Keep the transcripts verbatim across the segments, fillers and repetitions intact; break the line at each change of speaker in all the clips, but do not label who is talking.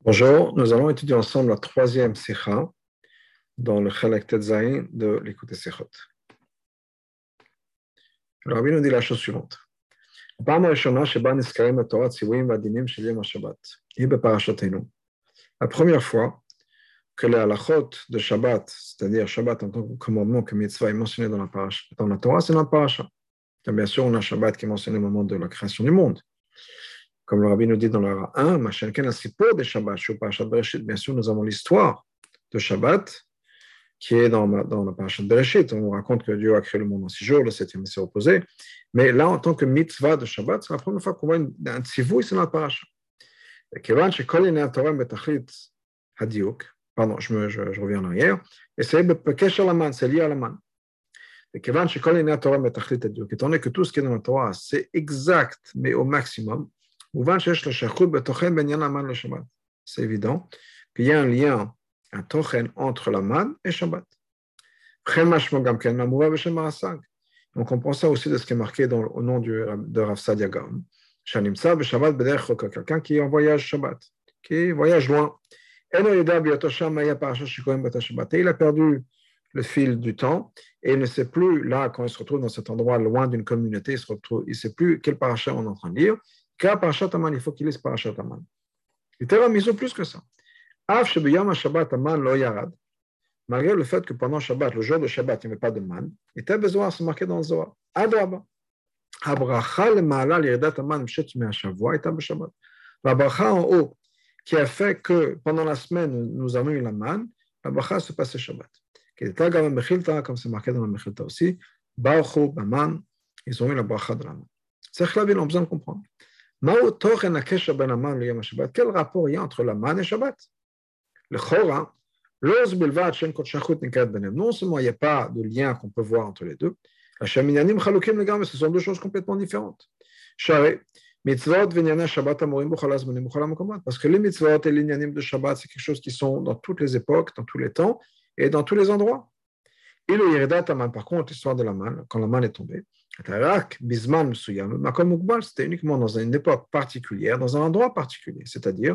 Bonjour, nous allons étudier ensemble la troisième sikha dans le Chelek Tetzaïn de l'Écoute Sikhot. Le Rabbi nous dit la chose suivante. La première fois que les halachot de Shabbat, c'est-à-dire Shabbat en tant que commandement que mitzvah est mentionné dans la, paracha, dans la Torah, c'est dans la paracha. Et bien sûr, on a Shabbat qui est mentionné au moment de la création du monde. Comme le Rabbi nous dit dans le un, bien sûr, nous avons l'histoire de Shabbat qui est dans, dans la parashat Bereshit. On nous raconte que Dieu a créé le monde en six jours, le septième s'est reposé. Mais là, en tant que mitzvah de Shabbat, c'est la première fois qu'on voit une, un tzivouï, c'est dans la parasha. Pardon, je, me, je, je reviens en arrière. Et c'est c'est lié à la manne. Étant donné que tout ce qui est dans la Torah, c'est exact, mais au maximum, c'est évident qu'il y a un lien, un tochen entre la manne et Shabbat. On comprend ça aussi de ce qui est marqué dans, au nom du, de Rav Sadia Gaon. Quelqu'un qui est en voyage Shabbat, qui voyage loin. Et il a perdu le fil du temps et il ne sait plus, là, quand il se retrouve dans cet endroit loin d'une communauté, il se retrouve, il ne sait plus quel parasha on est en train de lire. Car parashat Aman, il faut qu'il lise parashat Aman. Il était ramisé plus que ça. Malgré le fait que pendant Shabbat, le jour de Shabbat, il n'y avait pas de man, il était besoin de se marquer dans le Zohar. Adraba. La bracha en haut, qui a fait que pendant la semaine, nous avons eu la man, la bracha se passait Shabbat. Comme c'est marqué dans la Mechilta aussi, Baruchu, Baman, ils ont eu la bracha de la man. C'est que là, ils ont besoin de comprendre. Quel rapport il y a entre la manne et Shabbat? Le Chora, non seulement il n'y a pas de lien qu'on peut voir entre les deux, ce sont deux choses complètement différentes. Parce que les mitzvot et les inyanim de Shabbat, c'est quelque chose qui sont dans toutes les époques, dans tous les temps et dans tous les endroits. Et le Yeridat Aman, par contre, l'histoire de la manne, quand la manne est tombée, c'était uniquement dans une époque particulière, dans un endroit particulier, c'est-à-dire,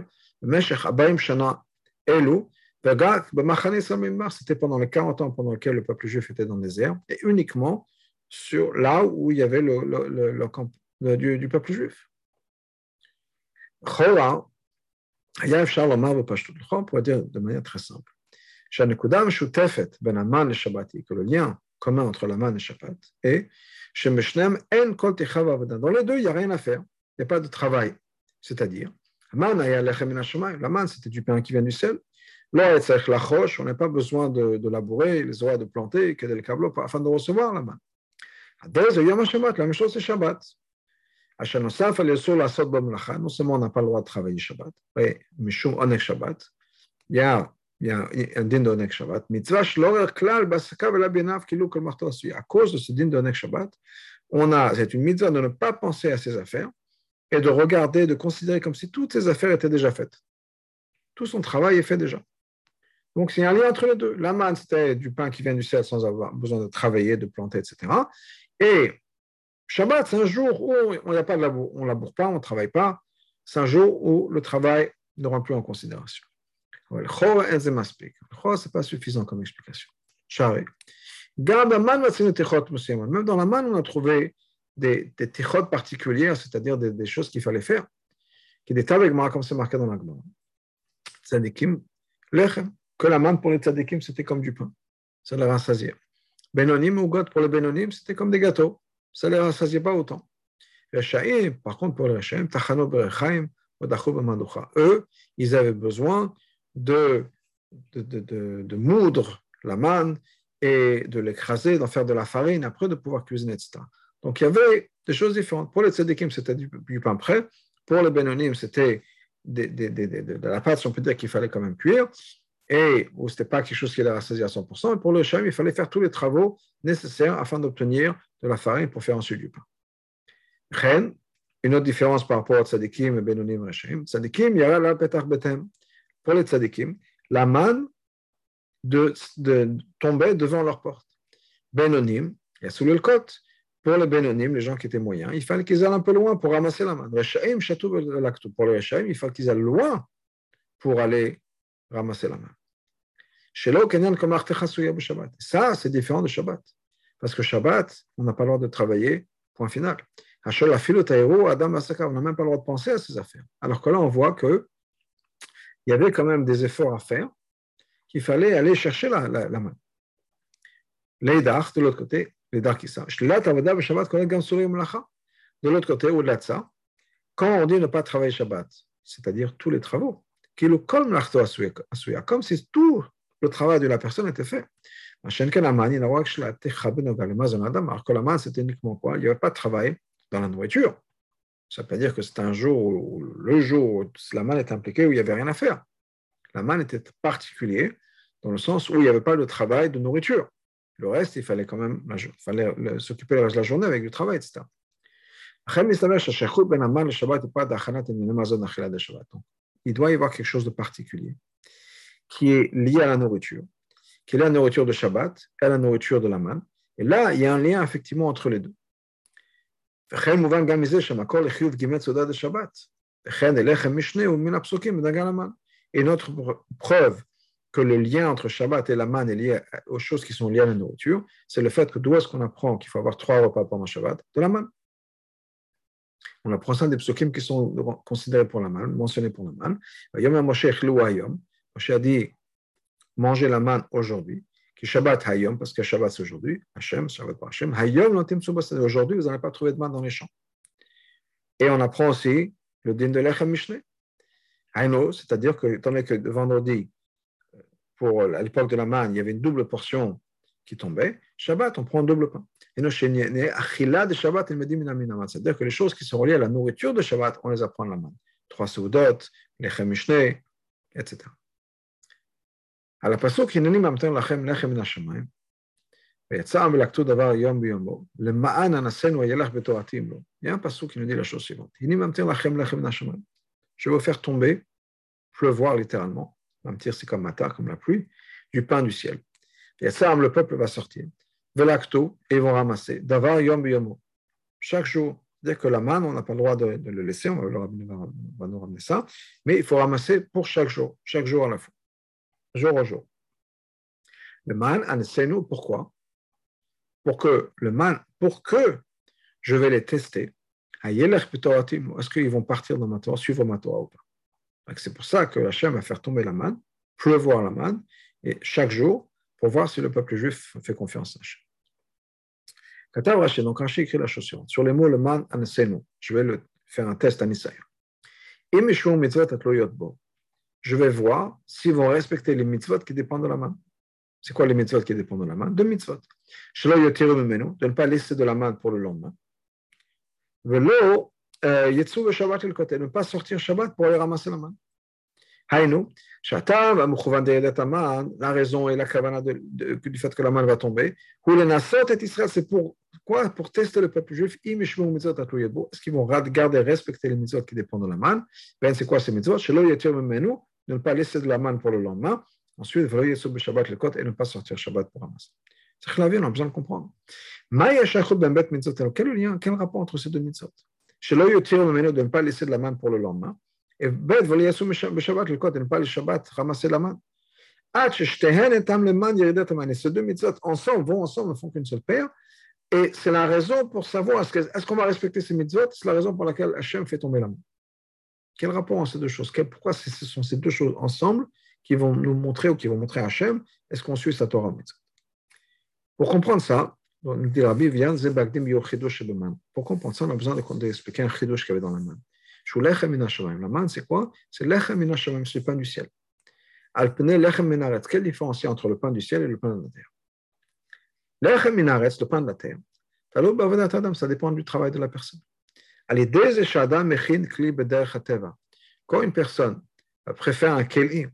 c'était pendant les quarante ans pendant lesquels le peuple juif était dans le désert, et uniquement sur là où il y avait le, le, le, le camp du, du peuple juif. On pourrait dire de manière très simple, que le lien commun entre la manne et Shabbat est dans les deux, il n'y a rien à faire, il n'y a pas de travail. C'est-à-dire, la manne, c'était du pain qui vient du ciel. On n'a pas besoin de, de labourer, les oreilles de planter, que des câbles afin de recevoir la manne. La même chose, c'est Shabbat. Non seulement on n'a pas le droit de travailler Shabbat, mais Mishum Onek Shabbat, il y a il y a un din de Onek Shabbat. Mitzvah shlorer klal basaka vela benav kilu kol marto asui. À cause de ce din de Onek Shabbat, on a, c'est une mitzvah de ne pas penser à ses affaires et de regarder, de considérer comme si toutes ses affaires étaient déjà faites. Tout son travail est fait déjà. Donc, c'est un lien entre les deux. La manne, c'était du pain qui vient du ciel sans avoir besoin de travailler, de planter, et cetera. Et Shabbat, c'est un jour où on n'y a pas de labour. On ne laboure pas, on ne travaille pas. C'est un jour où le travail ne rentre plus en considération. Le chor, ce n'est pas suffisant comme explication. Même dans la manne, on a trouvé des, des tichot particulières, c'est-à-dire des, des choses qu'il fallait faire, qui étaient avec moi, comme c'est marqué dans la Gemara. Tzadikim, lechem, que la manne pour les tzadikim, c'était comme du pain. Ça les rassasiait. Benonim ou God pour les benonim, c'était comme des gâteaux. Ça les rassasiait pas autant. Rechaim, par contre, pour les rechaim, tachano berechaim, odachou b'manducha. Eux, ils avaient besoin De, de, de, de, de moudre la manne et de l'écraser, d'en faire de la farine, après de pouvoir cuisiner, et cetera. Donc il y avait des choses différentes. Pour les tzadikim, c'était du, du pain prêt. Pour les benonim, c'était de, de, de, de, de la pâte, si on peut dire qu'il fallait quand même cuire, et où ce n'était pas quelque chose qui les rassasiait à cent pour cent. Et pour le shem, il fallait faire tous les travaux nécessaires afin d'obtenir de la farine pour faire ensuite du pain. Chen, une autre différence par rapport à tzadikim et benonim et reshaim. Tzadikim, yara la petach betem. Pour les tzadikim, la manne de, de tomber devant leur porte. Benonim, il y a sous le côte. Pour les benonim, les gens qui étaient moyens, il fallait qu'ils aillent un peu loin pour ramasser la manne. Reshaim, chatou laktou. Pour les reshaim, il fallait qu'ils aillent loin pour aller ramasser la manne. Chez l'eau, Shabbat. Ça, c'est différent de Shabbat. Parce que Shabbat, on n'a pas le droit de travailler, point final. On n'a même pas le droit de penser à ces affaires. Alors que là, on voit qu'il y avait quand même des efforts à faire, qu'il fallait aller chercher la, la, la main. L'Eidar, de l'autre côté, l'Eidar qui ça. De l'autre côté, au-delà de ça, quand on dit ne pas travailler Shabbat, c'est-à-dire tous les travaux, comme si tout le travail de la personne était fait. Alors que la manne, c'était uniquement quoi? Il n'y avait pas de travail dans la nourriture. Ça veut pas dire que c'est un jour, où, le jour où la manne est impliquée, où il n'y avait rien à faire. La manne était particulier dans le sens où il n'y avait pas de travail de nourriture. Le reste, il fallait quand même il fallait s'occuper le reste de la journée avec du travail, et cetera. Il doit y avoir quelque chose de particulier qui est lié à la nourriture, qui est la nourriture de Shabbat et la nourriture de la manne. Et là, il y a un lien effectivement entre les deux. Et une autre preuve que le lien entre Shabbat et la manne est lié aux choses qui sont liées à la nourriture, c'est le fait que d'où est-ce qu'on apprend qu'il faut avoir trois repas pendant Shabbat? De la manne. On apprend ça des psukim qui sont considérés pour la manne, mentionnés pour la manne. Moshe a dit manger la manne aujourd'hui, qui Shabbat Hayom, parce que Shabbat c'est aujourd'hui, Hashem, Shabbat par Hashem, Hayom, aujourd'hui, vous n'allez pas trouver de manne dans les champs. Et on apprend aussi le din de l'Echem Mishneh. Haino, c'est-à-dire que, étant donné que vendredi, pour, à l'époque de la manne, il y avait une double portion qui tombait, Shabbat, on prend un double pain. C'est-à-dire que les choses qui sont reliées à la nourriture de Shabbat, on les apprend à la manne. Trois seudot, l'Echem Mishneh, et cetera. על הפסוק הנני ממתן לכם לחם מן השמיים ויצא ולקטו דבר יום ביומו למען אנסנו הילך בתורתי לו. Il y a un pasuk qui nous dit la chose suivante. הנני ממתן לכם לחם מן השמיים. Je vais vous faire tomber, pleuvoir littéralement, mamtir c'est comme matar, comme la pluie, du pain du ciel. ויצא le peuple va sortir. ולקטו, et ils vont ramasser. דבר יום ביומו. Chaque jour, dès que la manne, on n'a pas le droit de, de le laisser, on va, le, on va nous ramener ça, mais il faut ramasser pour chaque jour, chaque jour à la fois. Jour au jour. Le man, anesenu, pourquoi? Pour que le man, pour que je vais les tester, est-ce qu'ils vont partir dans ma Torah, suivre ma Torah ou pas? C'est pour ça que Hachem va faire tomber la manne, pleuvoir la manne, et chaque jour, pour voir si le peuple juif fait confiance à Hachem. Katav Rashi, donc Rashi écrit la chose suivante. Sur les mots le man, anesenu, je vais le, faire un test à Nisaïa. Imishum mitzvot atloyot bo. Je vais voir s'ils vont respecter les mitzvot qui dépendent de la manne. C'est quoi les mitzvot qui dépendent de la manne? Deux mitzvot. De ne pas laisser de la manne pour le lendemain. De ne pas sortir Shabbat pour aller ramasser la manne. La raison et la kavana du fait que la manne va tomber. C'est pour quoi? Pour tester le peuple juif. Est-ce qu'ils vont garder, respecter les mitzvot qui dépendent de la manne? Ben, c'est quoi ces mitzvot? De ne pas laisser de la manne pour le lendemain. Ensuite, et ne pas sortir Shabbat pour ramasser. C'est que la vie, on a besoin de comprendre. Quel lien, quel rapport entre ces deux mitzvot? De ne pas laisser de la manne pour le lendemain. Et bet, et ne pas le Shabbat ramasser la manne. Ces deux mitzvot ensemble vont ensemble, ne font qu'une seule paire. Et c'est la raison pour savoir est-ce, que, est-ce qu'on va respecter ces mitzvot. C'est la raison pour laquelle Hachem fait tomber la manne. Quel rapport entre ces deux choses? Pourquoi ce sont ces deux choses ensemble qui vont nous montrer ou qui vont montrer à Hachem est-ce qu'on suit sa Torah? Pour comprendre ça, nous dit Rabbi vient pour comprendre ça, on a besoin d'expliquer un chidush qu'il y avait dans la manne. La manne, c'est quoi? C'est lechem min hashamayim, c'est le pain du ciel. Alpene lechem min haaretz. Quelle différence il y a entre le pain du ciel et le pain de la terre? Lechem min haaretz, le pain de la terre. Ça dépend du travail de la personne. Quand une personne préfère un keli,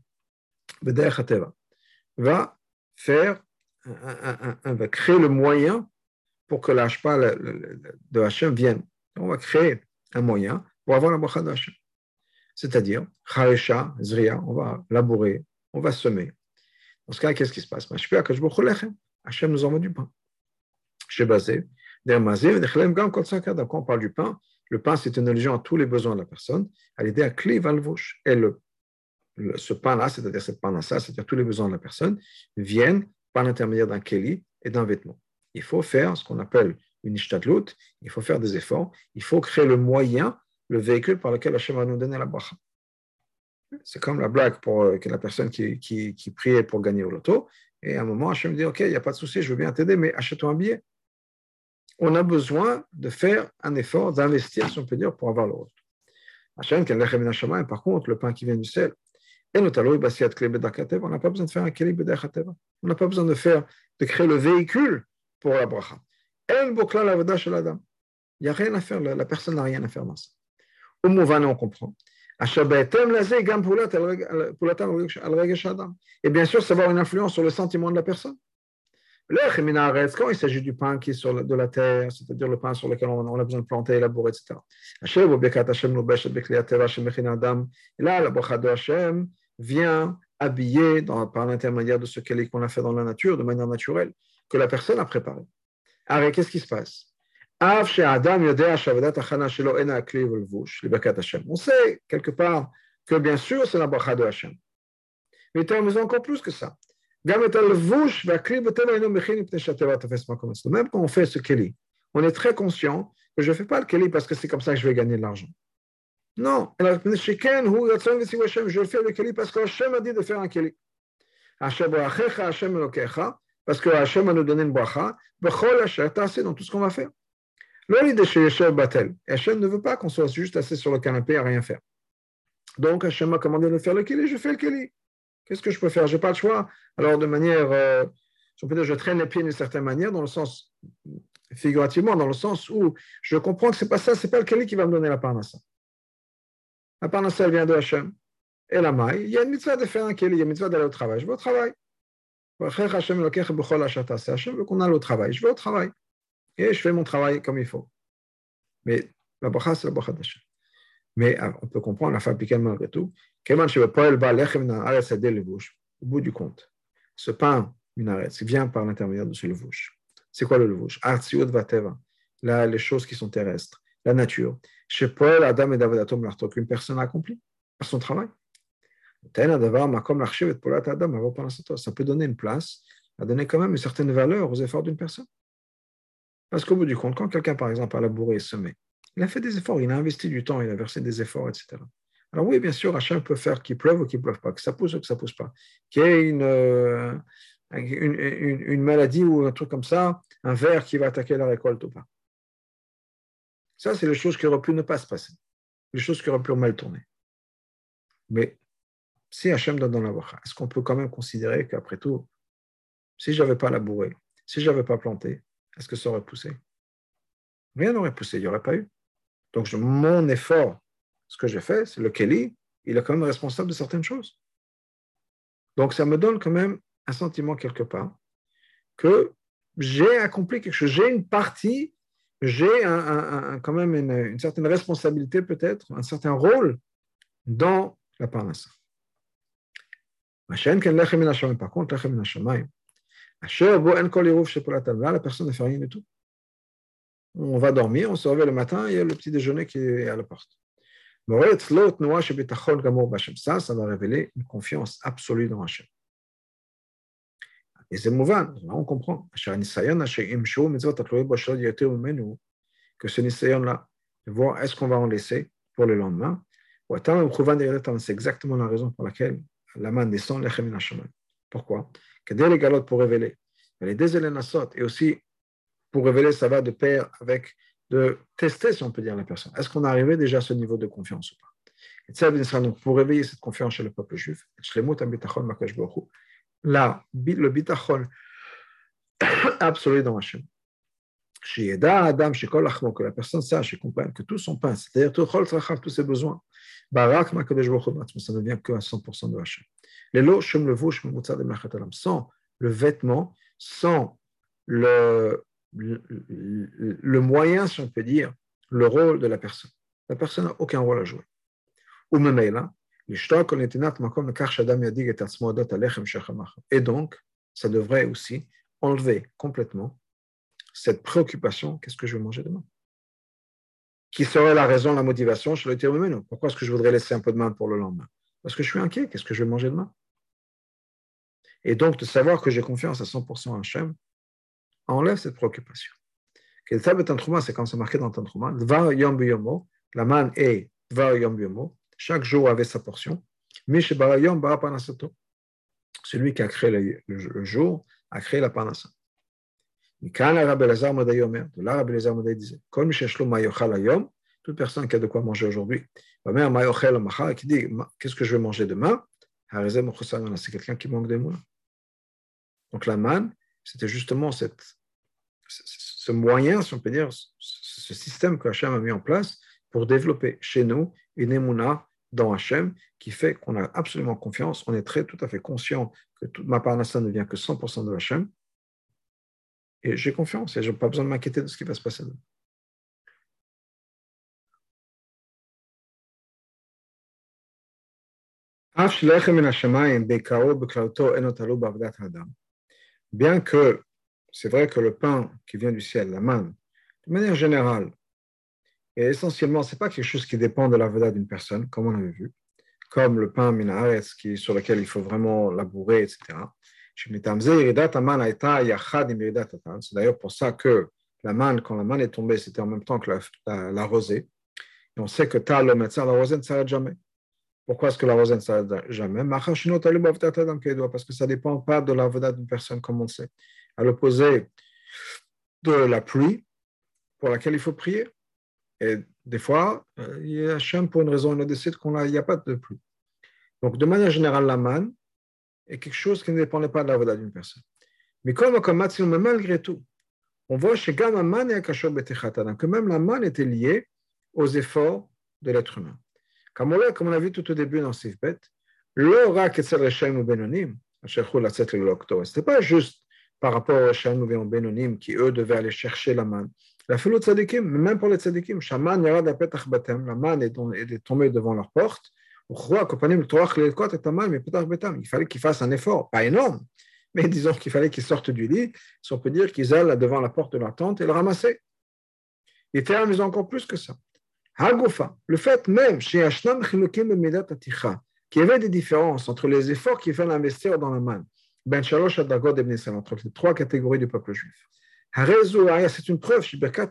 va faire, un, un, un, un, va créer le moyen pour que la hashpa de Hachem vienne. On va créer un moyen pour avoir la bracha de Hachem. C'est-à-dire, charesha, zriya, on va labourer, on va semer. Dans ce cas, qu'est-ce qui se passe? Hachem nous envoie du pain. Chez Bazé, quand on parle du pain, le pain, c'est une allusion à tous les besoins de la personne, à l'idée à clé valvouche. Et le ce pain-là, c'est-à-dire cette parnassa, c'est-à-dire tous les besoins de la personne, viennent par l'intermédiaire d'un keli et d'un vêtement. Il faut faire ce qu'on appelle une ishtadlut, il faut faire des efforts, il faut créer le moyen, le véhicule par lequel Hachem va nous donner la bracha. C'est comme la blague pour euh, que la personne qui, qui, qui priait pour gagner au loto, et à un moment, Hachem dit, OK, il n'y a pas de souci, je veux bien t'aider, mais achète-toi un billet. On a besoin de faire un effort, d'investir, si on peut dire, pour avoir le loto. Hachem, par contre, le pain qui vient du ciel, et notamment, on n'a pas besoin de faire un keli b'derech. On n'a pas besoin de faire, de créer le véhicule pour la bracha. El bokla l'avada shel adam. Il n'y a rien à faire, la, la personne n'a rien à faire dans ça. Au Mouvan, on comprend. Et bien sûr, ça va avoir une influence sur le sentiment de la personne. Quand il s'agit du pain qui est sur la, de la terre, c'est-à-dire le pain sur lequel on, on a besoin de planter, élaborer, et cetera. Et là, la bracha de Hashem vient habiller dans, par l'intermédiaire de ce qu'on a fait dans la nature, de manière naturelle, que la personne a préparé. Alors, qu'est-ce qui se passe? On sait quelque part que bien sûr c'est la bracha de Hashem. Mais tu as besoin encore plus que ça. Même quand on fait ce keli, on est très conscient que je ne fais pas le keli parce que c'est comme ça que je vais gagner de l'argent. Non, je fais le keli parce que Hashem a dit de faire un keli. Parce que Hashem a nous donné une bracha dans tout ce qu'on va faire. Hashem ne veut pas qu'on soit juste assis sur le canapé à rien faire. Donc Hashem m'a commandé de faire le keli, je fais le keli. Qu'est-ce que je peux faire? Je n'ai pas le choix. Alors de manière, euh, on peut dire, je traîne les pieds d'une certaine manière, dans le sens, figurativement, dans le sens où je comprends que ce n'est pas ça, ce n'est pas le keli qui va me donner la parnassa. La parnassa, elle vient de Hashem. Et la maille, il y a une mitzvah de faire un keli, il y a une mitzvah d'aller au travail. Je vais au travail. Hashem veut qu'on aille au travail. Je vais au travail. Et je fais mon travail comme il faut. Mais la bracha, c'est la bracha d'Hashem. Mais on peut comprendre la fabrique malgré tout. Au bout du compte, ce pain minaretz vient par l'intermédiaire de ce levouche. C'est quoi le levouche? Là, les choses qui sont terrestres, la nature. Chez Paul, Adam et David Atom l'artok, une personne a accompli par son travail. Ça peut donner une place, à donner quand même une certaine valeur aux efforts d'une personne. Parce qu'au bout du compte, quand quelqu'un, par exemple, a labouré et semé, il a fait des efforts, il a investi du temps, il a versé des efforts, et cetera. Alors oui, bien sûr, Hachem peut faire qu'il pleuve ou qu'il ne pleuve pas, que ça pousse ou que ça ne pousse pas, qu'il y ait une, euh, une, une, une maladie ou un truc comme ça, un ver qui va attaquer la récolte ou pas. Ça, c'est les choses qui auraient pu ne pas se passer, les choses qui auraient pu mal tourner. Mais si Hachem donne dans la bracha, est-ce qu'on peut quand même considérer qu'après tout, si je n'avais pas labouré, si je n'avais pas planté, est-ce que ça aurait poussé? Rien n'aurait poussé, il n'y aurait pas eu. Donc, je, mon effort, ce que j'ai fait, c'est le keli, il est quand même responsable de certaines choses. Donc, ça me donne quand même un sentiment quelque part que j'ai accompli quelque chose, j'ai une partie, j'ai un, un, un, quand même une, une certaine responsabilité peut-être, un certain rôle dans la parnassa. Par contre, là, la personne ne fait rien du tout. On va dormir, on se réveille le matin, il y a le petit déjeuner qui est à la porte. Ça, ça va révéler une confiance absolue dans Hachem. Et c'est mouvant, là on comprend. Que ce nisayon-là, de voir est-ce qu'on va en laisser pour le lendemain. C'est exactement la raison pour laquelle la main descend lechem min hashamayim. Pourquoi? Pour révéler. Et aussi pour révéler, ça va de pair avec de tester, si on peut dire, la personne. Est-ce qu'on est arrivé déjà à ce niveau de confiance ou pas? Et ça sera donc pour réveiller cette confiance chez le peuple juif. Là, le bitachon absolu dans Hachem. Que la personne sache et comprenne que tout son pain, c'est-à-dire tous ses besoins, ça ne vient que à cent pour cent de Hachem. Sans le vêtement, sans le Le, le, le moyen, si on peut dire, le rôle de la personne. La personne n'a aucun rôle à jouer. Ou même là, et donc, ça devrait aussi enlever complètement cette préoccupation, qu'est-ce que je vais manger demain? Qui serait la raison, la motivation chez le terme humain? Pourquoi est-ce que je voudrais laisser un peu de main pour le lendemain? Parce que je suis inquiet, qu'est-ce que je vais manger demain? Et donc, de savoir que j'ai confiance à cent pour cent en Hachem, enlève cette préoccupation. C'est quand c'est marqué dans Tantruma, Dvar Yom Biyomo, la manne est Dvar Yom Biyomo, chaque jour avait sa portion. Mish Bara Yom Bara Parnasato. Celui qui a créé le, le, le jour a créé la Parnasa. Quand l'Arabe Elazar Madaï Omer, de l'Arabe Elazar Madaï disait, Kol Misheshlo Mayochal Ayom, toute personne qui a de quoi manger aujourd'hui, ma mère Mayochel Machar, qui dit, qu'est-ce que je vais manger demain? C'est quelqu'un qui manque de moulin. Donc la manne, c'était justement cette, ce moyen, si on peut dire, ce système que Hachem a mis en place pour développer chez nous une émouna dans Hachem qui fait qu'on a absolument confiance, on est très tout à fait conscient que toute ma parnassa ne vient que cent pour cent de Hachem, et j'ai confiance, et je n'ai pas besoin de m'inquiéter de ce qui va se passer. Bien que c'est vrai que le pain qui vient du ciel, la manne, de manière générale, et essentiellement, ce n'est pas quelque chose qui dépend de la vedette d'une personne, comme on avait vu, comme le pain minaretz, qui, sur lequel il faut vraiment labourer, et cetera. C'est d'ailleurs pour ça que la manne, quand la manne est tombée, c'était en même temps que la, la, la rosée. Et on sait que tal le médecin, la rosée ne s'arrête jamais. Pourquoi est-ce que la rosée ne s'arrête jamais? Parce que ça ne dépend pas de la vedette d'une personne, comme on le sait. À l'opposé de la pluie, pour laquelle il faut prier. Et des fois, il y a Hachem, pour une raison, il décide qu'il n'y a pas de pluie. Donc, de manière générale, la manne est quelque chose qui ne dépendait pas de la vedette d'une personne. Mais comme, comme malgré tout, on voit chez Gama Man et Akashor Betechatan que même la manne était liée aux efforts de l'être humain. Comme on, comme on a vu tout au début dans Sifbet, l'aura Ketzel Reshaim ou Benonim, ce n'était pas juste par rapport aux Reshaim ou Benonim qui, eux, devaient aller chercher la manne. La foule de tzadikim, même pour les tzadikim, Shaman Yarad Apetach Batem, la manne est tombée devant leur porte. Il fallait qu'ils fassent un effort, pas énorme, mais disons qu'il fallait qu'ils sortent du lit, si on peut dire qu'ils allent devant la porte de leur tente et le ramasser. Il était amusant encore plus que ça. Hagufa, le fait même, chez Hashnam Chilukim Bemidat Aticha, qu'il y avait des différences entre les efforts qu'il fallait investir dans la manne, Ben Shalosh Adagod Ibn Israël, entre les trois catégories du peuple juif. C'est une preuve,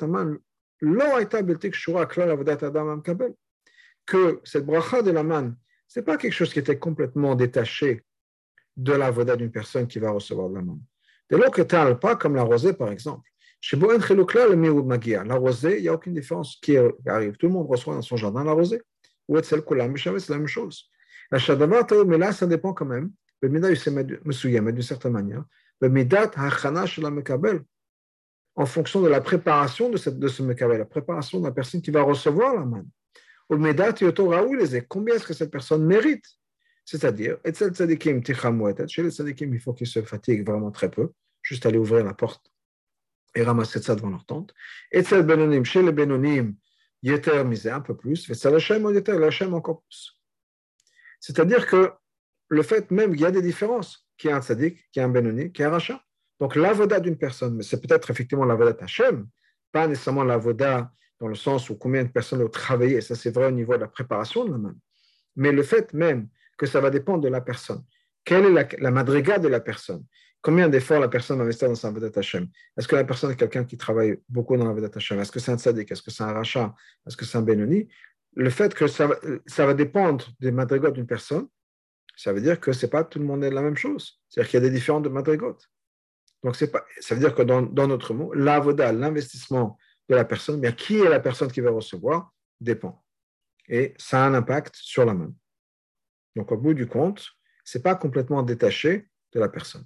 que cette bracha de la manne, ce n'est pas quelque chose qui était complètement détaché de la voda d'une personne qui va recevoir de la manne. De l'autre côté, pas comme la rosée, par exemple. Chez Boen Chelukla, le Miroud Magia, la rosée, il n'y a aucune différence qui arrive. Tout le monde reçoit dans son jardin la rosée. Ou est-ce que c'est la même chose. La Shadavar, mais là, ça dépend quand même. Le Mida, il s'est mis d'une certaine manière. Le Midat, Hachana, Shela Mekabel, en fonction de la préparation de, cette, de ce Mekabel, la préparation de la personne qui va recevoir la manne. Au Midat, combien est-ce que cette personne mérite? C'est-à-dire, chez les tzadikim, il faut qu'ils se fatiguent vraiment très peu, juste aller ouvrir la porte et ramasser ça devant leur tente. Et chez les Benonim, Yeter misé un peu plus, et Hashem encore plus. C'est-à-dire que le fait même qu'il y a des différences, qu'il y a un tzadik, qu'il y a un Benoni, qu'il y a un rachat. Donc l'avoda d'une personne, mais c'est peut-être effectivement l'avoda Hashem, pas nécessairement l'avoda dans le sens où combien de personnes ont travaillé, ça c'est vrai au niveau de la préparation de la main, mais le fait même que ça va dépendre de la personne. Quelle est la, la madriga de la personne? Combien d'efforts la personne va investir dans sa vedette Hashem? Est-ce que la personne est quelqu'un qui travaille beaucoup dans la vedette Hashem? Est-ce que c'est un tzaddik? Est-ce que c'est un rachat? Est-ce que c'est un Benoni? Le fait que ça, ça va dépendre des madrigas d'une personne, ça veut dire que c'est pas tout le monde est la même chose. C'est-à-dire qu'il y a des différentes madrigas. Donc c'est pas, ça veut dire que dans, dans notre mot, l'avoda, l'investissement de la personne, bien qui est la personne qui va recevoir, dépend. Et ça a un impact sur la main. Donc, au bout du compte, ce n'est pas complètement détaché de la personne.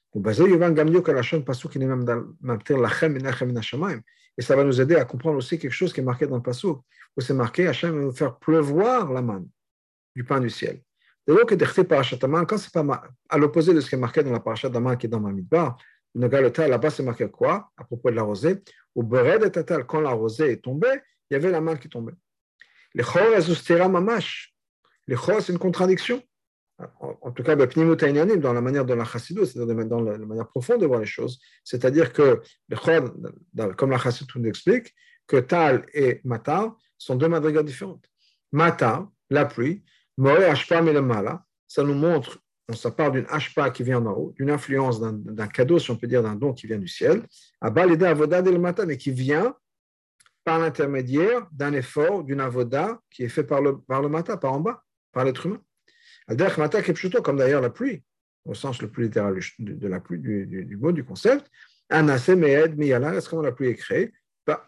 Et ça va nous aider à comprendre aussi quelque chose qui est marqué dans le passouk, où c'est marqué Hachem va nous faire pleuvoir la manne du pain du ciel. Quand c'est pas à l'opposé de ce qui est marqué dans la parashat d'Aman qui est dans Bamidbar, là-bas c'est marqué quoi à propos de la rosée? Quand la rosée est tombée, il y avait la manne qui tombait. Les chor mamash. Les chor, c'est une contradiction. En, en tout cas, dans la manière de la chassidut, c'est-à-dire dans la, la manière profonde de voir les choses. C'est-à-dire que les chor, comme la chassidut nous explique, que tal et matar sont deux madrigas différentes. Matar, la pluie, Moré Ashpa Melamala, ça nous montre, ça part d'une Ashpa qui vient d'en haut, d'une influence, d'un, d'un cadeau, si on peut dire, d'un don qui vient du ciel, à Balida Avoda del Mata, mais qui vient par l'intermédiaire d'un effort, d'une avoda qui est fait par le, par le Mata, par en bas, par l'être humain. Al-Derech Mata Kepshuto, comme d'ailleurs la pluie, au sens le plus littéral de, de la pluie, du, du, du mot, du concept, Anase Meed Miyala, est-ce comment la pluie est créée par,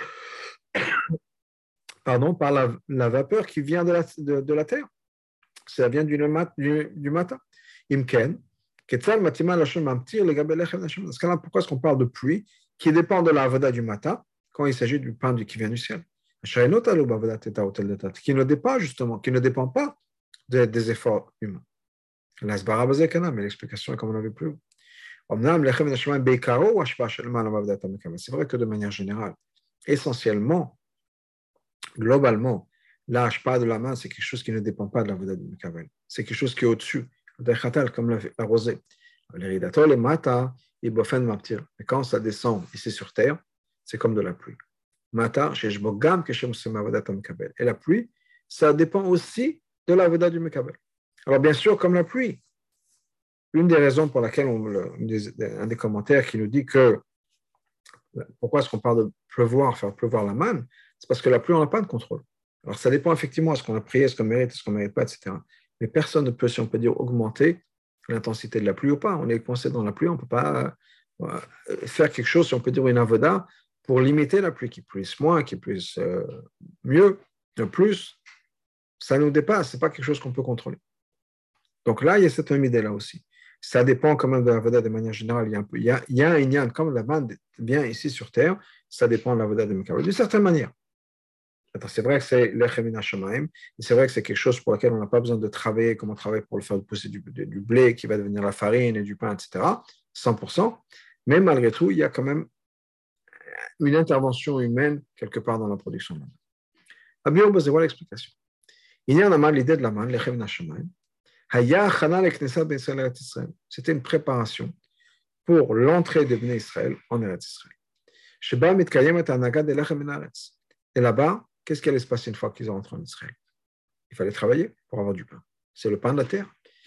pardon, par la, la vapeur qui vient de la, de, de la terre. Ça vient du, du, du matin. Imken, Ketzal Matima Lachon Mamtir, le Gabel Lechem Lachon. Dans ce cas-là, pourquoi est-ce qu'on parle de pluie qui dépend de la avoda du matin quand il s'agit du pain qui vient du ciel? Qui ne dépend pas, justement, qui ne dépend pas de, des efforts humains. Mais l'explication est comme on avait plus. C'est vrai que de manière générale, essentiellement, globalement, la hashpa de la main, c'est quelque chose qui ne dépend pas de la voda du Mekavel. C'est quelque chose qui est au-dessus, comme la, la rosée. Les mata, et quand ça descend ici sur terre, c'est comme de la pluie. Mata, et la pluie, ça dépend aussi de la voda du Mekavel. Alors bien sûr, comme la pluie, une des raisons pour laquelle on, un des commentaires qui nous dit que pourquoi est-ce qu'on parle de pleuvoir, faire pleuvoir la manne, c'est parce que la pluie, on n'a pas de contrôle. Alors ça dépend effectivement, est-ce qu'on a prié, est-ce qu'on mérite, est-ce qu'on ne mérite pas, et cetera. Mais personne ne peut, si on peut dire, augmenter l'intensité de la pluie ou pas. On est coincé dans la pluie, on ne peut pas euh, faire quelque chose, si on peut dire une avoda, pour limiter la pluie, qui puisse moins, qui puisse euh, mieux, plus. Ça nous dépasse, ce n'est pas quelque chose qu'on peut contrôler. Donc là, il y a cette même idée-là aussi. Ça dépend quand même de la Veda de manière générale. Il y a un peu, il y a, il y a un inyan, comme la bande vient ici sur terre, ça dépend de la Veda de Mekabel, d'une certaine manière. C'est vrai que c'est l'Echem min Hashamayim, et c'est vrai que c'est quelque chose pour lequel on n'a pas besoin de travailler comme on travaille pour le faire pousser du, du blé qui va devenir la farine et du pain, et cetera, cent pour cent. Mais malgré tout, il y a quand même une intervention humaine quelque part dans la production. Abiyom, c'est voilà l'explication. Il y a un l'idée de la manne, l'Echem min Hashamayim. C'était une préparation pour l'entrée de Bnei Israël en Eretz Israël. Et là-bas, qu'est-ce qui allait se passer une fois qu'ils ont rentré en Israël? Il fallait travailler pour avoir du pain. C'est le pain de la terre.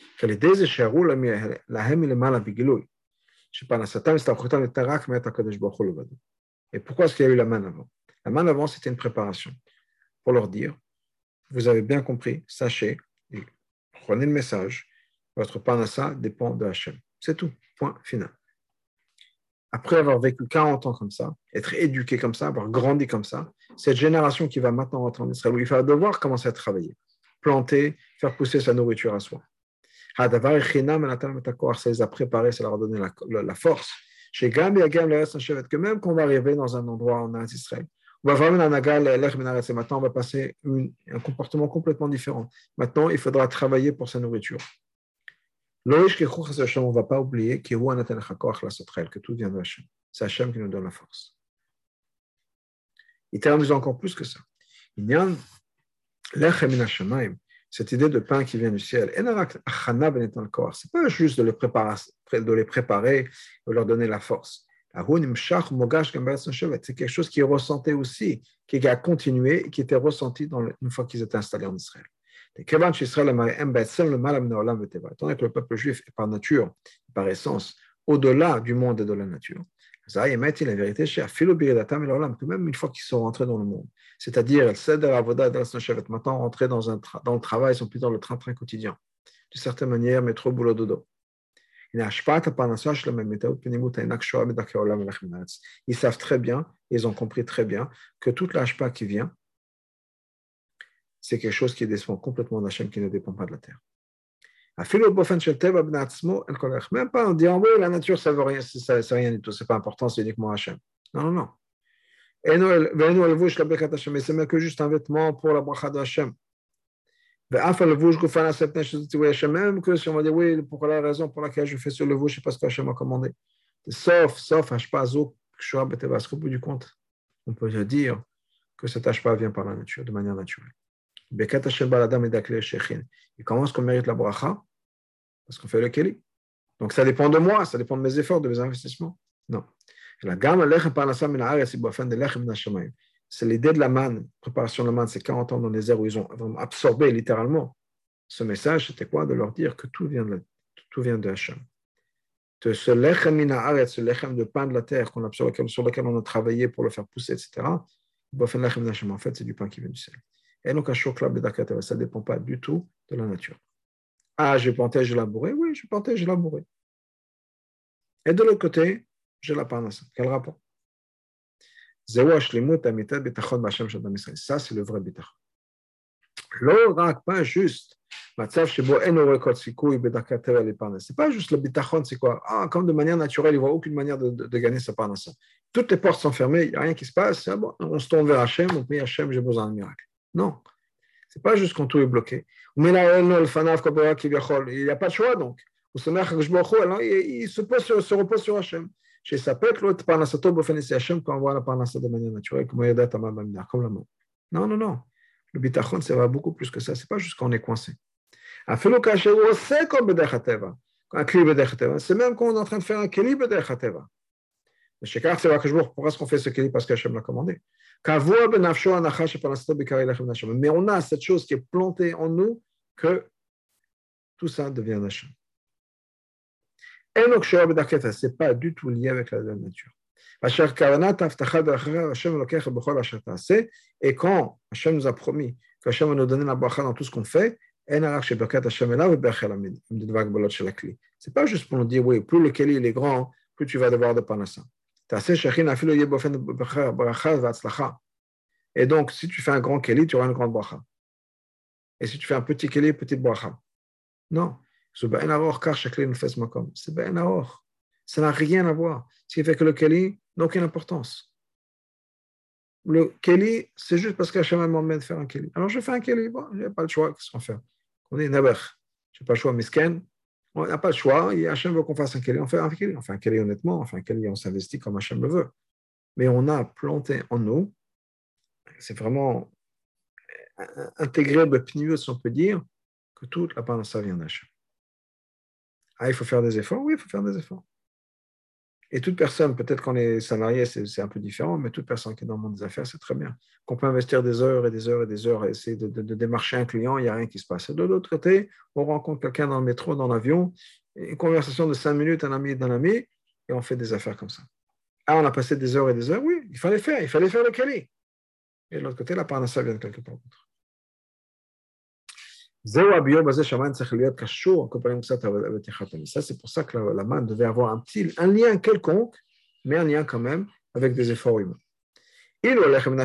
Et pourquoi est-ce qu'il y a eu la manne avant? La manne avant, c'était une préparation pour leur dire, vous avez bien compris, sachez, prenez le message, votre parnassa dépend de Hachem. C'est tout, point final. Après avoir vécu quarante ans comme ça, être éduqué comme ça, avoir grandi comme ça, cette génération qui va maintenant rentrer en Israël, où il va devoir commencer à travailler, planter, faire pousser sa nourriture à soi. Ça les a préparés, ça leur a donné la, la, la force. Que même qu'on va arriver dans un endroit en Israël, on va vraiment maintenant on va passer une, un comportement complètement différent. Maintenant, il faudra travailler pour sa nourriture. On ne va pas oublier que tout vient de Hachem. C'est Hachem qui nous donne la force. Il termine encore plus que ça. Il y a cette idée de pain qui vient du ciel. Ce n'est pas juste de les préparer, de les préparer et leur donner la force. C'est quelque chose qui est ressenti aussi, qui a continué et qui était ressenti dans le, une fois qu'ils étaient installés en Israël. Étant donné que le peuple juif est par nature, par essence, au-delà du monde et de la nature, la vérité, que même une fois qu'ils sont rentrés dans le monde, c'est-à-dire maintenant rentrés dans, un tra- dans le travail, ils sont plus dans le train-train quotidien, d'une certaine manière, métro, boulot, dodo. Ils savent très bien, ils ont compris très bien que toute l'ashpa qui vient, c'est quelque chose qui dépend complètement d'Hachem, qui ne dépend pas de la terre. Même pas en disant, oui, la nature, ça ne veut rien, ça, c'est rien du tout, c'est pas important, c'est uniquement Hachem. Non, non, non. Et c'est même que juste un vêtement pour la bracha de Hachem. Même que si on va dire, oui, pour la raison pour laquelle je fais ce levush, c'est parce que Hachem a commandé. Sauf, sauf, Hashpazo, au bout du compte, on peut dire que cet Hashpa vient par la nature, de manière naturelle. Il commence qu'on mérite la bracha parce qu'on fait le keli. Donc ça dépend de moi, ça dépend de mes efforts, de mes investissements. Non. C'est l'idée de la manne, préparation de la manne, c'est quarante ans dans les airs où ils ont absorbé littéralement Ce message, c'était quoi? De leur dire que tout vient de, tout vient de Hachem. De ce lechem min haaretz, ce lechem de pain de la terre qu'on a, sur, lequel, sur lequel on a travaillé pour le faire pousser, et cetera. En fait, c'est du pain qui vient du ciel. Et donc, ça ne dépend pas du tout de la nature. Ah, j'ai planté, j'ai labouré. Oui, j'ai planté, j'ai labouré. Et de l'autre côté, j'ai la parnassa. Quel rapport? Ça, c'est le vrai bitachon. לא רק, pas juste, מצב שבו אין עורקות סיכוי בדרכי הטבע לפרנס. C'est pas juste le bitachon, c'est quoi? Ah, comme de manière naturelle, il ne voit aucune manière de, de, de gagner sa parnassa. Toutes les portes sont fermées, il n'y a rien qui se passe, ah bon, on se tourne vers Hachem, on prie Hachem, j'ai besoin d'un miracle. Non, c'est pas juste quand tout est bloqué. Il n'y a pas de choix donc. Il, il se, pose sur, se repose sur Hachem. Chez Sapek, l'autre parnassato bofenesi Hachem, quand on voit la parnassa de manière naturelle, comme il comme la main. Non, non, non. Le bitachon, ça va beaucoup plus que ça. Ce n'est pas juste quand on est coincé. C'est même quand on est en train de faire un keli b'derech hateva. Pourquoi est-ce qu'on fait ce keli? Parce qu'Hachem l'a commandé. Mais on a cette chose qui est plantée en nous que tout ça devient d'Hachem. Ce n'est pas du tout lié avec la nature. Et quand Hachem nous a promis qu'Hachem va nous donner la bracha dans tout ce qu'on fait, ce n'est pas juste pour nous dire, oui, plus le keli est grand, plus tu vas devoir de parnassa. Et donc, si tu fais un grand keli, tu auras une grande bracha. Et si tu fais un petit keli, petite bracha. Non. C'est ben aor, car chaque keli nous fait ce makom. C'est ben aor. Ça n'a rien à voir. Ce qui fait que le keli n'a aucune importance. Le keli, c'est juste parce qu'Hachem m'a demandé de faire un keli. Alors je fais un keli, bon, je n'ai pas le choix, qu'est-ce qu'on fait? On est naber, je n'ai pas le choix, misken, on n'a pas le choix, et Hachem veut qu'on fasse un keli, on fait un keli, on fait un keli honnêtement, on fait un keli, on s'investit comme Hachem le veut. Mais on a planté en nous, c'est vraiment intégré, si on peut dire, que toute la part de ça vient d'Hachem. Ah, il faut faire des efforts? Oui, il faut faire des efforts. Et toute personne, peut-être qu'on est salarié, c'est, c'est un peu différent, mais toute personne qui est dans le monde des affaires, c'est très bien. Qu'on peut investir des heures et des heures et des heures et essayer de, de, de démarcher un client, il n'y a rien qui se passe. Et de l'autre côté, on rencontre quelqu'un dans le métro, dans l'avion, une conversation de cinq minutes, un ami d'un ami, et on fait des affaires comme ça. Ah, on a passé des heures et des heures, oui, il fallait faire, il fallait faire le keli. Et de l'autre côté, la parnassa vient de quelque part d'autre. Ça, c'est pour ça que la, la manne devait avoir un petit un lien quelconque, mais un lien quand même avec des efforts humains. Si le lechem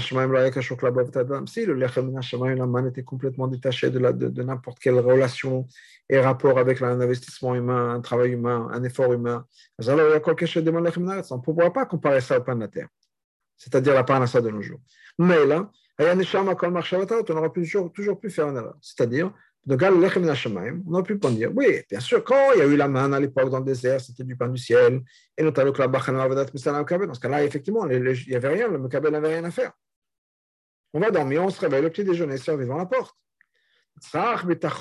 min hashamayim, la manne était complètement détachée de, la, de, de n'importe quelle relation et rapport avec un investissement humain, un travail humain, un effort humain, on ne pourra pas comparer ça au pain de la terre, c'est-à-dire la parnassa de nos jours. Mais là, on aurait toujours, toujours pu faire une erreur, c'est-à-dire de Gal Lechem min hashamayim, on aurait pu dire, oui, bien sûr, quand il y a eu la manne à l'époque dans le désert, c'était du pain du ciel, et notamment que la bachana avadat misalam kabel, dans ce cas-là, effectivement, il n'y avait rien, le kabel n'avait rien à faire. On va dormir, on se réveille, le petit déjeuner sert devant la porte. Dans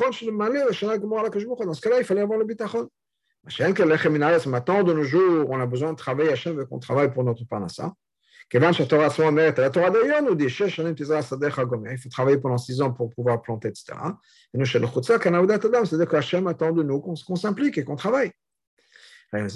ce cas-là, il fallait avoir le bitachon. Maintenant, de nos jours, on a besoin de travailler, Hachem veut qu'on travaille pour notre parnassa. La Torah d'ailleurs nous dit il faut travailler pendant six ans pour pouvoir planter, et cetera. Et nous, chez le Chutza, c'est-à-dire qu'Hachem attend de nous qu'on, qu'on s'implique et qu'on travaille. Donc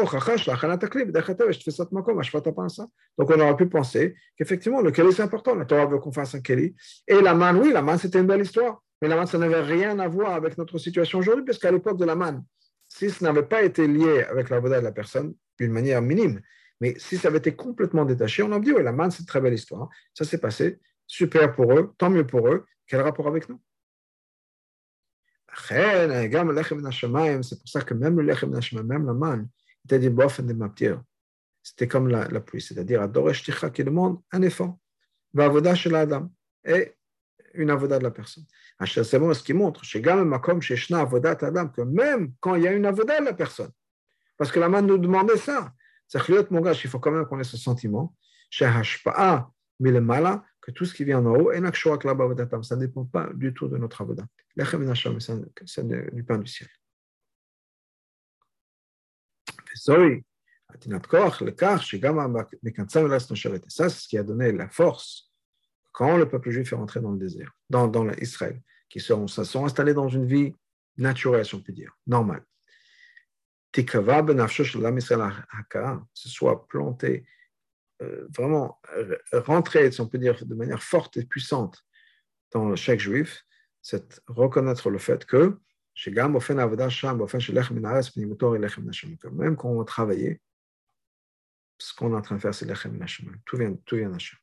on aurait pu penser qu'effectivement le keli c'est important, la Torah veut qu'on fasse un keli. Et la manne, oui, la manne c'était une belle histoire, mais la manne ça n'avait rien à voir avec notre situation aujourd'hui, parce qu'à l'époque de la manne, si ce n'avait pas été lié avec la voda de la personne d'une manière minime, mais si ça avait été complètement détaché, on a dit, oui, la manne, c'est une très belle histoire. Ça s'est passé, super pour eux, tant mieux pour eux. Quel rapport avec nous? C'est pour ça que même le lechem min hashamayim, même la manne, était dit bof de maptir. C'était comme la, la pluie, c'est-à-dire adoresh ticha qui demande un effort. Vavoda shel adam et une avoda de la personne. C'est bon, ce qui montre, chez Gam Makom, chez Shna avodat adam, que même quand il y a une avoda de la personne, parce que la manne nous demandait ça. C'est-à-dire, mon gars, il faut quand même qu'on ait ce sentiment, chez Hashpa'a, Milemala, que tout ce qui vient en haut, ça ne dépend pas du tout de notre avoda. Lechem min hashamayim, c'est du pain du ciel. Ça, c'est ce qui a donné la force quand le peuple juif est rentré dans le désert, dans, dans Israël. qui sont, ça sont installés dans une vie naturelle, si on peut dire, normale. Tikava benafsho shel Am Yisrael hakara, ce soit planté, euh, vraiment euh, rentrer, si on peut dire, de manière forte et puissante dans chaque juif, c'est reconnaître le fait que même quand on va travailler, ce qu'on est en train de faire, c'est lechem min hashamayim. Tout vient, tout vient d'Hachem.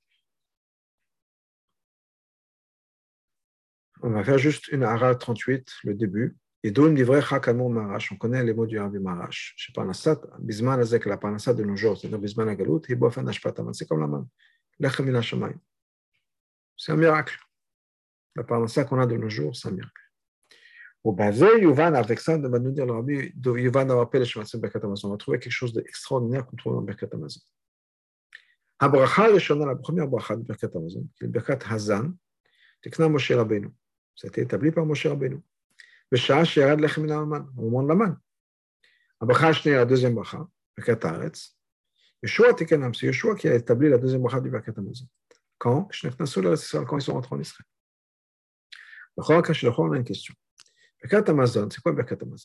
On va faire juste une hara trente-huit, le début. Et d'où livré Chakamour Marash. On connaît les mots du Rabbi Marash. Je sais pas, Bisman Azek, la Parnassat de nos jours, c'est-à-dire Bisman Agalout, et Bofen Ashpataman. C'est comme la main. Lechem min hashamayim. C'est un miracle. La Parnassat qu'on a de nos jours, c'est un miracle. Au Bazé, Yuvan, avec ça, on va nous dire le Rabbi, Yuvan a rappelé le Shematzim Birkat Hamazon. On va trouver quelque chose d'extraordinaire qu'on trouve dans Birkat Hamazon. La bracha Rishona, la première bracha de Birkat Hamazon, qui est le Birkat Hazan, Tekna Moshe Rabbeinu. Ça a été établi par Moshe Rabbeinu. B'sha'ah she'yarad lechem min ha'aman, au moment de la manne. La bracha Shneya, la deuxième bracha, Birkat Haaretz. Yeshua Tekenam, c'est Yeshua qui a établi la deuxième bracha du Birkat Hamazon. Quand? Quand ils sont rentrés en Israël. On a une question. Birkat Hamazon, c'est quoi Birkat Hamazon?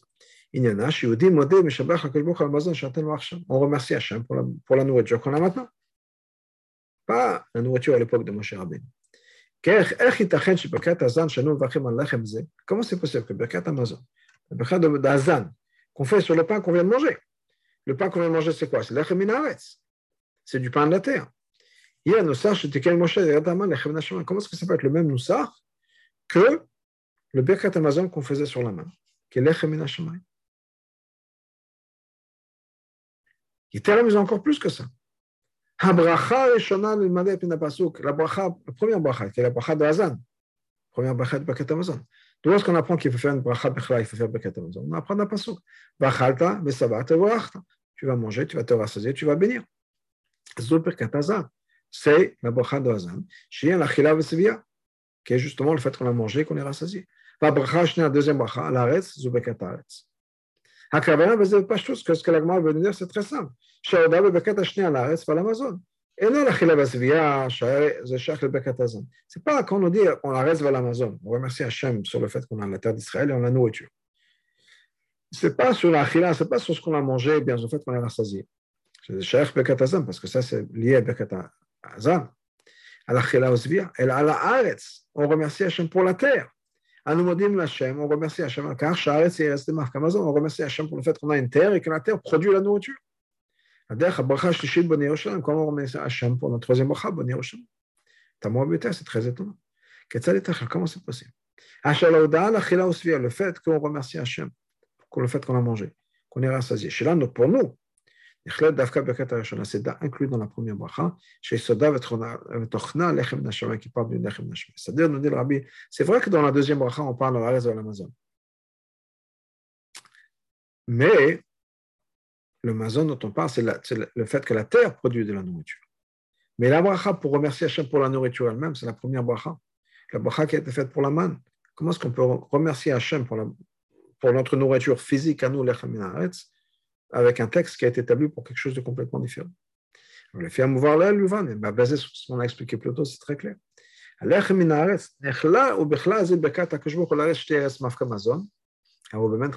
On remercie Hachem pour la, pour la nourriture qu'on a maintenant. Pas la nourriture à l'époque de Moshe Rabbeinu. Comment c'est possible que Birkat Hamazon, le Birkat d'Hazan, qu'on fait sur le pain qu'on vient de manger, le pain qu'on vient de manger, c'est quoi? C'est lechem min haaretz. C'est du pain de la terre. Comment est-ce que ça peut être le même noussach que le Birkat Hamazon qu'on faisait sur la main, qui est lechem min hashamayim? Il est amusant encore plus que ça. La bracha, la première bracha, qui est la bracha de Hazan, la première bracha de Birkat Hamazon. D'où est-ce qu'on apprend qu'il faut faire une bracha bechla, il faut faire Birkat Hamazon? On apprend dans la pasuk. Vachalta, besavata, vorachta. Tu vas manger, tu vas te rassasier, tu vas bénir. C'est le Birkat Hazan. C'est la bracha de Hazan, qui est la chila vesevia, qui est justement le fait qu'on a mangé, qu'on est rassasié. La bracha, la deuxième bracha, l'aretz, c'est Birkat Haaretz. Hakavana, c'est pas chose que ce que la Gemara veut nous dire, c'est très simple. Shaoda Birkat Hashnia, l'aretz, pas l'Amazon. Et non, la chila vesevia, c'est chaque le Birkat Hazan. C'est pas quand on dit on l'aretz va l'Amazon. On remercie Hachem sur le fait qu'on a la terre d'Israël et on a la nourriture. C'est pas sur la chila, c'est pas sur ce qu'on a mangé, bien sur le fait qu'on est rassasié. C'est chaque Birkat Hazan, parce que ça, c'est lié à Birkat Hazan. À la chila vesevia. Et à la aretz, on remercie Hachem pour la terre. On remercie Hachem, car Shaaretz est resté marqué Amazon. On remercie Hachem pour le fait qu'on a une terre et que la terre produit la nourriture. Comment on remercie Hachem pour notre troisième bracha, Bnei Yerushalayim? Tamou Beter, c'est très étonnant. Comment c'est possible? Le fait qu'on remercie Hachem pour le fait qu'on a mangé, qu'on est rassasié. Chez là, pour nous, c'est inclus dans la première bracha, chez Soda v'tochna lechem nashamayim, qui parle du lechem nashamayim. C'est-à-dire, nous dit le Rabbi, c'est vrai que dans la deuxième bracha, on parle de la raison de l'Amazon. Mais le Amazon dont on parle, c'est, la, c'est le fait que la terre produit de la nourriture. Mais la bracha pour remercier Hachem pour la nourriture elle-même, c'est la première bracha. La bracha qui a été faite pour la manne. Comment est-ce qu'on peut remercier Hachem pour, la, pour notre nourriture physique à nous, lechem min haaretz, avec un texte qui a été établi pour quelque chose de complètement différent? On le fait à mouvoir là, Luvan, mais basé sur ce qu'on a expliqué plus tôt, c'est très clair. Lechem min haaretz, nechla ou bechla zil bekat hakashbuch ou l'aretz shtei eretz mafka mazon. Alors, le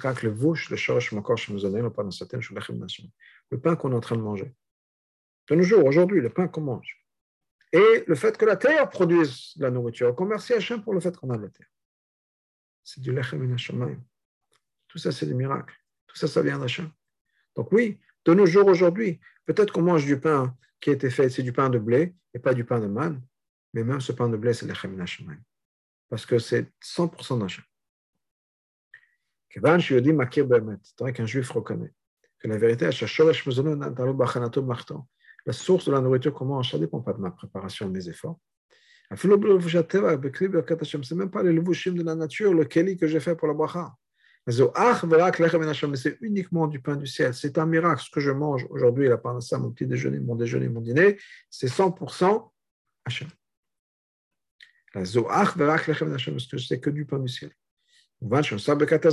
pain qu'on est en train de manger. De nos jours, aujourd'hui, le pain qu'on mange. Et le fait que la terre produise la nourriture. Qu'on remercie Hachem pour le fait qu'on a la terre. C'est du lechem min hashamayim. Tout ça, c'est des miracles. Tout ça, ça vient d'Hachem. Donc oui, de nos jours, aujourd'hui, peut-être qu'on mange du pain qui a été fait, c'est du pain de blé et pas du pain de manne. Mais même ce pain de blé, c'est lechem min hashamayim. Parce que c'est cent pour cent d'Hachem. Kevan Shiodi Makir Bemet, tant qu'un juif reconnaît que la vérité, la source de la nourriture qu'on mange, ça ne dépend pas de ma préparation, de mes efforts. C'est même pas les levushim de la nature, le keli que j'ai fait pour la bracha. Mais c'est uniquement du pain du ciel. C'est un miracle. Ce que je mange aujourd'hui, la parnassa, mon petit déjeuner, mon déjeuner, mon dîner, c'est cent pour cent Hachem. La zoach verak lechem min Hashem, parce que c'est que du pain du ciel. Dans ce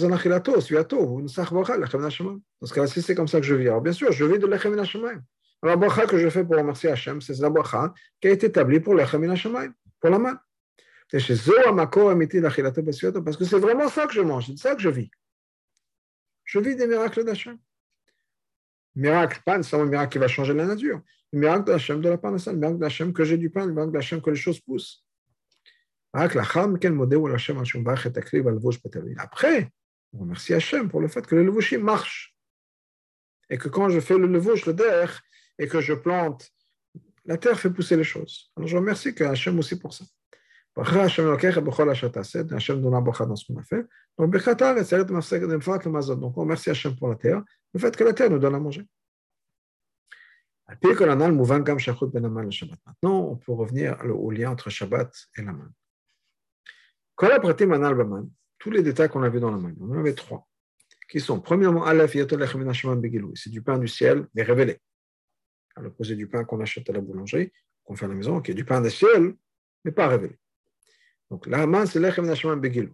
cas-là, si c'est comme ça que je vis, alors bien sûr, je vis de lechem min hashamayim. Alors, la bracha que je fais pour remercier Hachem, c'est la bracha qui a été établie pour lechem min hashamayim, pour la manne. Et chez Zoa Mako Amiti Lachilato Basiyoto, parce que c'est vraiment ça que je mange, c'est ça que je vis. Je vis des miracles d'Hachem. Miracle, pas seulement un miracle qui va changer la nature. Le miracle d'Hachem de la parnassa, le miracle d'Hachem que j'ai du pain, le miracle d'Hachem que les choses poussent. Après, on remercie Hachem pour le fait que le levushim marche. Et que quand je fais le levush, le der, et que je plante, la terre fait pousser les choses. Alors je remercie que Hachem aussi pour ça. Hachem donne la bracha dans ce qu'on a fait. Donc, donc on remercie Hachem pour la terre, le fait que la terre nous donne à manger. Maintenant, on peut revenir au lien entre Shabbat et la manne. Tous les détails qu'on a vus dans la manne, on en avait trois, qui sont, premièrement, c'est du pain du ciel, mais révélé. À l'opposé du pain qu'on achète à la boulangerie, qu'on fait à la maison, qui est du pain du ciel, mais pas révélé. Donc, la manne, c'est l'echem nashaman begilou.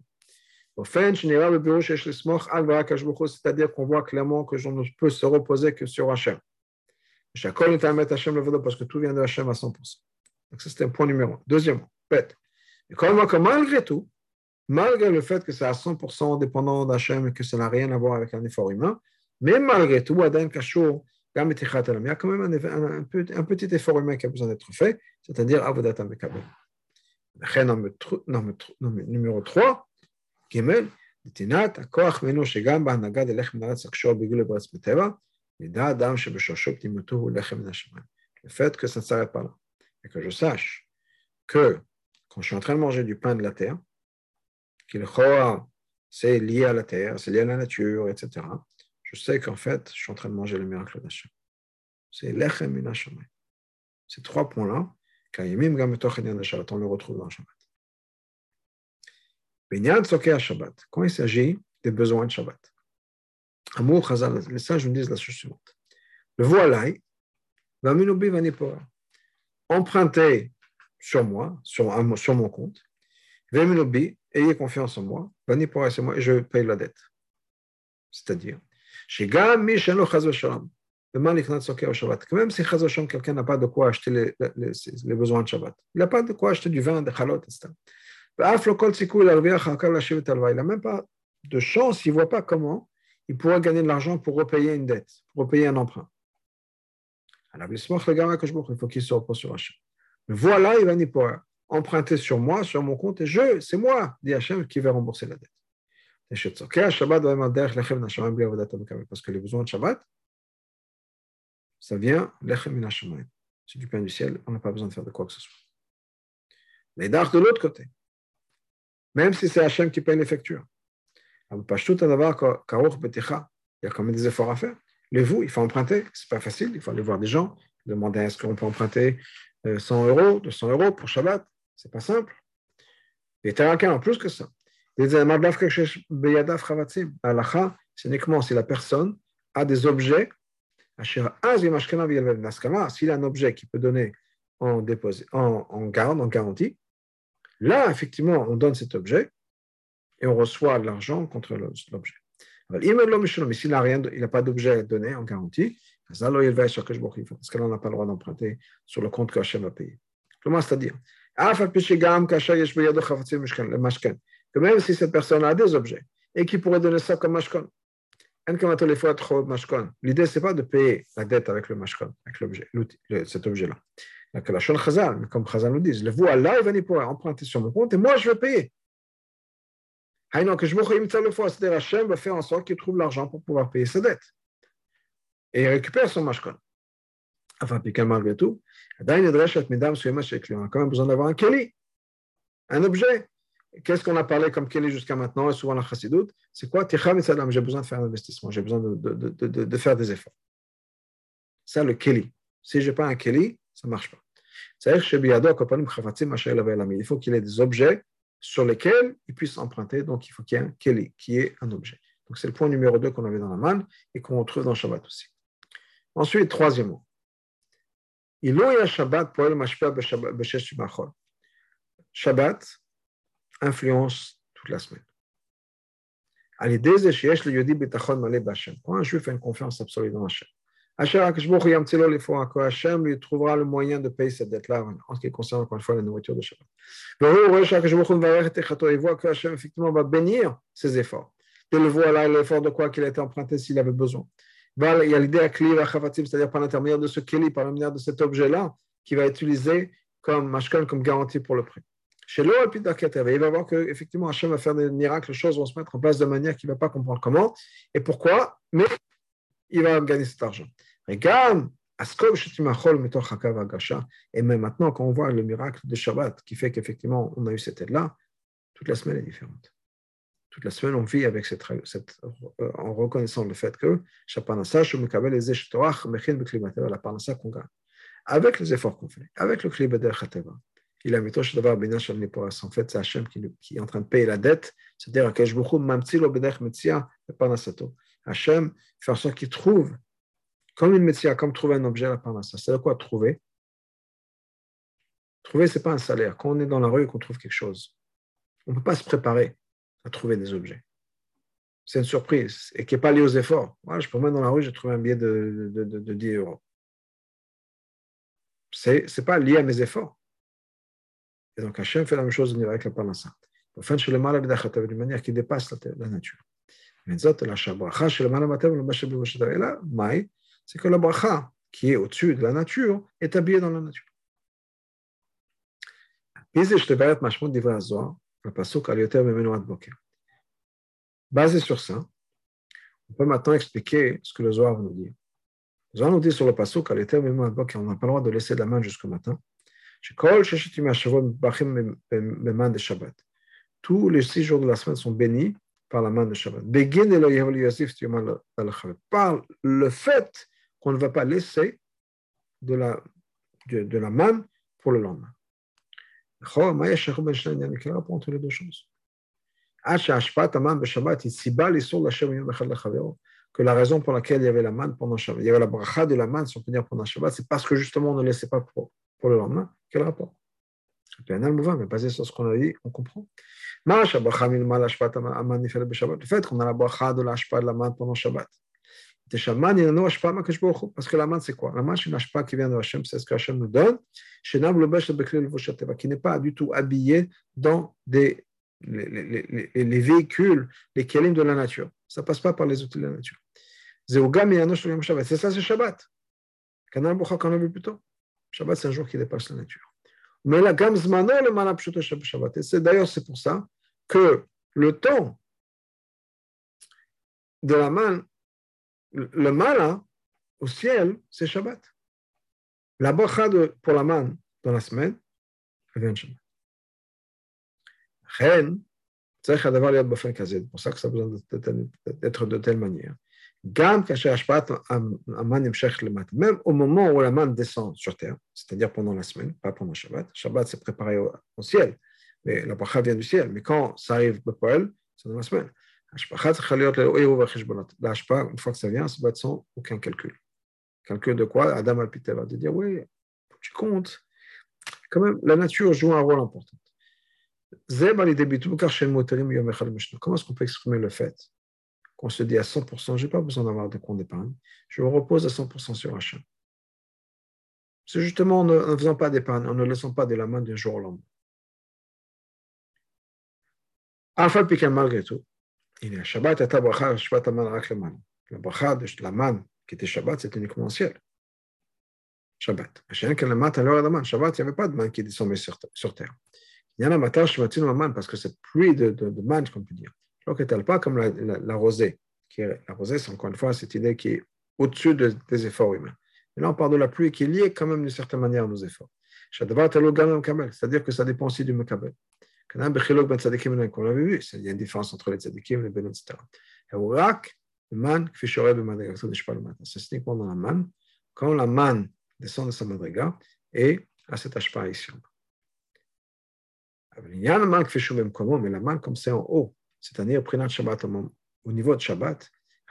C'est-à-dire qu'on voit clairement que je ne peux se reposer que sur Hachem. Parce que tout vient de Hachem à cent pour cent. Donc, ça, c'était un point numéro un. Deuxièmement, bête. Et quand on voit que malgré tout, malgré le fait que c'est à cent pour cent dépendant d'Hachem et que ça n'a rien à voir avec un effort humain, mais malgré tout, il y a quand même un, un, un, un petit effort humain qui a besoin d'être fait, c'est-à-dire Avodat HaMekabel. Numéro trois, Gimel, le fait que ça ne s'arrête pas là, et que je sache que quand je suis en train de manger du pain de la terre, qu'il c'est lié à la terre, c'est lié à la nature, et cetera, je sais qu'en fait, je suis en train de manger le miracle d'Hachem. C'est lechem min hashamayim. Ces trois points-là, on le retrouve dans le Shabbat. Shabbat. Quand il s'agit des besoins de Shabbat, Amour Chazal, les sages nous disent la chose suivante. Le voilai, vaminubi vanipora. Empruntez sur moi, sur, sur mon compte, vaminubi, ayez confiance en moi, vanipora c'est moi et je paye la dette. C'est-à-dire, chez Gam Mishano Chazoshalam, le Maliknat Soker au Shabbat, que même si Chazoshalam, quelqu'un n'a pas de quoi acheter les, les, les besoins de Shabbat, il n'a pas de quoi acheter du vin, des chalot, et cetera. Il n'a même pas de chance, il ne voit pas comment il pourra gagner de l'argent pour repayer une dette, pour repayer un emprunt. Alors, il faut qu'il se repose sur Hachem. Mais voilà, il va n'y pouvoir emprunter sur moi, sur mon compte, et je, c'est moi, dit Hachem, qui va rembourser la dette. Parce que les besoins de Shabbat, ça vient, c'est du pain du ciel, on n'a pas besoin de faire de quoi que ce soit. Les dards de l'autre côté, même si c'est Hachem qui paye les factures. Il y a quand même des efforts à faire. Les vous, il faut emprunter, c'est pas facile, il faut aller voir des gens, demander est-ce qu'on peut emprunter cent euros, deux cents euros pour Shabbat, c'est pas simple. Et en plus que ça. C'est uniquement si la personne a des objets, s'il a un objet qui peut donner en, déposé, en, en garde, en garantie, là, effectivement, on donne cet objet et on reçoit de l'argent contre l'objet. Mais s'il n'a rien, il n'a pas d'objet à donner en garantie, parce que là, on n'a pas le droit d'emprunter sur le compte que Hachem a payé. Comment c'est-à-dire que même si cette personne a des objets et qui pourrait donner ça comme mashkon, l'idée, ce n'est pas de payer la dette avec le mashkon, avec l'objet, cet objet-là. Que la Shon Chazal, comme Chazal nous dit, le voit là, il va n'y pouvoir emprunter sur mon compte et moi, je vais payer. C'est-à-dire Hachem va faire en sorte qu'il trouve l'argent pour pouvoir payer sa dette. Et il récupère son mashkon. Enfin, puis malgré tout, on a quand même besoin d'avoir un keli, un objet. Qu'est-ce qu'on a parlé comme keli jusqu'à maintenant et souvent la chassidoute? C'est quoi? J'ai besoin de faire un investissement, j'ai besoin de, de, de, de, de faire des efforts. Ça, le keli. Si je n'ai pas un keli, ça ne marche pas. C'est-à-dire il faut qu'il ait des objets sur lesquels il puisse emprunter, donc il faut qu'il y ait un keli, qui est un objet. Donc c'est le point numéro deux qu'on avait dans la manne et qu'on retrouve dans Shabbat aussi. Ensuite, troisièmement, Shabbat influence toute la semaine. Quand un juif a une confiance absolue dans Hachem, Hachem lui trouvera le moyen de payer cette dette-là, en ce qui concerne encore une fois la nourriture de Shabbat. Il voit que Hachem effectivement va bénir ses efforts. De le voir là, l'effort de quoi qu'il a été emprunté s'il avait besoin. Il y a l'idée à Kli, c'est-à-dire par l'intermédiaire de ce Kli, par l'intermédiaire de cet objet-là, qui va être utilisé comme mashkan, comme garantie pour le prêt. Chez l'eau, il va voir qu'effectivement Hachem va faire des miracles, les choses vont se mettre en place de manière qu'il ne va pas comprendre comment et pourquoi, mais il va gagner cet argent. Regarde, et même maintenant, quand on voit le miracle de Shabbat qui fait qu'effectivement on a eu cette aide-là, toute la semaine est différente. Toute la semaine, on vit avec cette, cette, euh, en reconnaissant le fait que la parnassa qu'on gagne, avec les efforts qu'on fait, avec le Kli B'derech HaTeva, il a mis Tosh Davar Bina Shel Niporas. En fait, c'est Hachem qui, qui est en train de payer la dette, c'est-à-dire Akash B'chu Mamtzilo B'derech Metzia Parnassato. Hachem fait en sorte qu'il trouve, comme une Metzia, comme trouver un objet à la Parnassa. C'est quoi trouver? Trouver, ce n'est pas un salaire. Quand on est dans la rue et qu'on trouve quelque chose, on ne peut pas se préparer à trouver des objets. C'est une surprise et qui n'est pas liée aux efforts. Voilà, je promène dans la rue, j'ai trouvé un billet de, de, de, de dix euros. Ce n'est pas lié à mes efforts. Et donc Hachem fait la même chose avec la Parnassa. Enfin, chez le mal, d'une manière qui dépasse la, la nature. Et là, maï, c'est que la bracha, qui est au-dessus de la nature, est habillée dans la nature. Basé sur ça, on peut maintenant expliquer ce que le Zohar nous dit. Le Zohar nous dit sur le pasuk, on n'a pas le droit de laisser de la manne jusqu'au matin. Tous les six jours de la semaine sont bénis par la manne de Shabbat. Par le fait qu'on ne va pas laisser de la, de, de la manne pour le lendemain. Quel rapport entre les deux choses? Que la raison pour laquelle il y avait la manne pendant Shabbat, il y avait la bracha de la manne, si on peut dire pendant Shabbat, c'est parce que justement on ne laissait pas pour, pour le lendemain. Quel rapport? C'est un mouvement, mais basé sur ce qu'on a dit, on comprend. Le fait qu'on a la bracha de l'ashpa de la manne pendant Shabbat. Parce que la manne, c'est quoi? La manne, c'est une ashpa qui vient de Hachem, c'est ce que Hachem nous donne, qui n'est pas du tout habillé dans des, les, les, les, les véhicules, les kelim de la nature. Ça ne passe pas par les outils de la nature. C'est ça, c'est Shabbat. Qu'on a vu plus tôt. Shabbat, c'est un jour qui dépasse la nature. Mais la gamme zmano le mana pshuto Shabbat. Et c'est d'ailleurs c'est pour ça que le temps de la manne, le mana au ciel, c'est Shabbat. La bracha pour la manne dans la semaine, elle vient de Shabbat. Chen, c'est pour ça que ça a besoin d'être de telle manière. Même au moment où la manne descend sur terre, c'est-à-dire pendant la semaine, pas pendant Shabbat. Shabbat, c'est préparé au, au ciel, mais la bracha vient du ciel. Mais quand ça arrive au poêle, c'est dans la semaine. La une fois que ça vient, ça va être sans aucun calcul. Calcul de quoi? Adam al-Piteva, de dire, oui, tu comptes. Quand même, la nature joue un rôle important. Comment est-ce qu'on peut exprimer le fait qu'on se dit à cent pour cent, je n'ai pas besoin d'avoir de compte d'épargne, je me repose à cent pour cent sur Hachem. C'est justement en ne faisant pas d'épargne, en ne laissant pas de la main d'un jour au lendemain. Alpha Piquet, malgré tout, il y a Shabbat et Tabracha, Shabbat Aman Rakleman. La bracha de la manne qui était Shabbat, c'était uniquement ciel. Shabbat. Shabbat, il n'y avait pas de manne qui descendait sur, sur terre. Il y en a matin, je m'attire la manne parce que cette pluie de, de, de manne, comme on peut dire. Donc, elle n'est pas comme la, la, la rosée. Qui est, la rosée, c'est encore une fois cette idée qui est au-dessus de, des efforts humains. Et là, on parle de la pluie qui est liée quand même d'une certaine manière à nos efforts. C'est-à-dire que ça dépend aussi du Mekabel. Qu'on avait vu, il y a une différence entre les tzadikim, les ben, et cetera. C'est uniquement dans la manne, quand la manne descend de sa madriga et à cette ashpa ici. Mais la manne, comme c'est en haut, c'est-à-dire au niveau de Shabbat,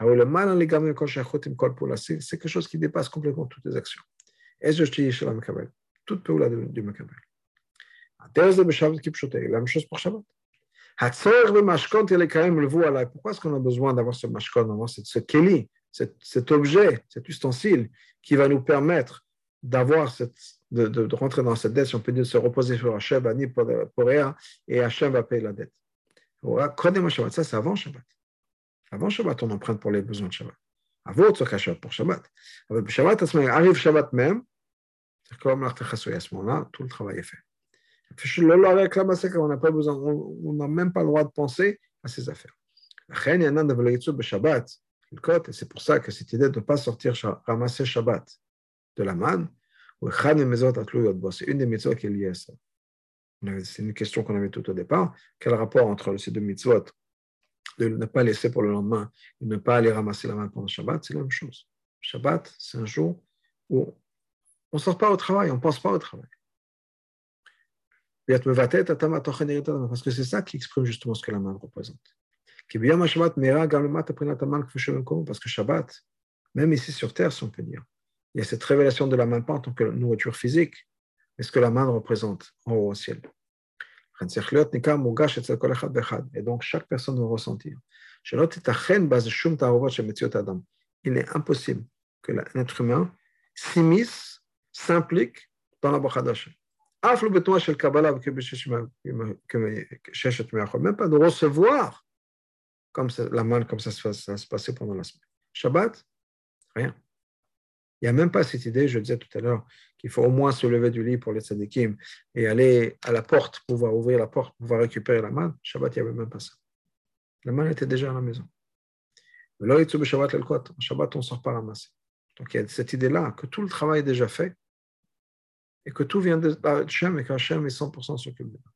c'est quelque chose qui dépasse complètement toutes les actions. Toute peoula du Mekabel. La même chose pour Shabbat. Pourquoi est-ce qu'on a besoin d'avoir ce mashkon, d'avoir ce keli cet, cet objet, cet ustensile qui va nous permettre d'avoir cette, de, de, de rentrer dans cette dette, si on peut dire, de se reposer sur Hachem, Ani Porea, et Hachem va payer la dette. Ça, c'est avant Shabbat. Avant Shabbat, on emprunte pour les besoins de Shabbat. Avant Shabbat, pour Shabbat. Avec Shabbat, arrive Shabbat même, c'est comme l'artechasoy, à ce moment-là, tout le travail est fait. Avec la massacre, on n'a pas besoin, on n'a même pas le droit de penser à ces affaires. C'est pour ça que cette idée de ne pas sortir ramasser Shabbat de la manne, c'est une des mitzvot qui est liée à ça. C'est une question qu'on avait tout au départ. Quel rapport entre ces deux mitzvot, de ne pas laisser pour le lendemain et ne pas aller ramasser la manne pendant Shabbat, c'est la même chose. Shabbat, c'est un jour où on ne sort pas au travail, on ne pense pas au travail. Parce que c'est ça qui exprime justement ce que la manne représente. Parce que Shabbat, même ici sur terre, si on peut dire, il y a cette révélation de la manne pas en tant que nourriture physique, mais ce que la manne représente en haut au ciel. Et donc chaque personne doit ressentir. Il est impossible que l'être humain s'immisce, s'implique dans la bracha d'Hashem. Même pas de recevoir comme ça, la manne, comme ça se, ça se passait pendant la semaine. Shabbat, rien. Il n'y a même pas cette idée, je disais tout à l'heure, qu'il faut au moins se lever du lit pour les tzadikim et aller à la porte, pouvoir ouvrir la porte, pouvoir récupérer la manne. Shabbat, il n'y avait même pas ça. La manne était déjà à la maison. En Shabbat, on ne sort pas ramasser. Donc il y a cette idée-là que tout le travail est déjà fait et que tout vient de Hachem et qu'Hachem est cent pour cent s'occupe de nous.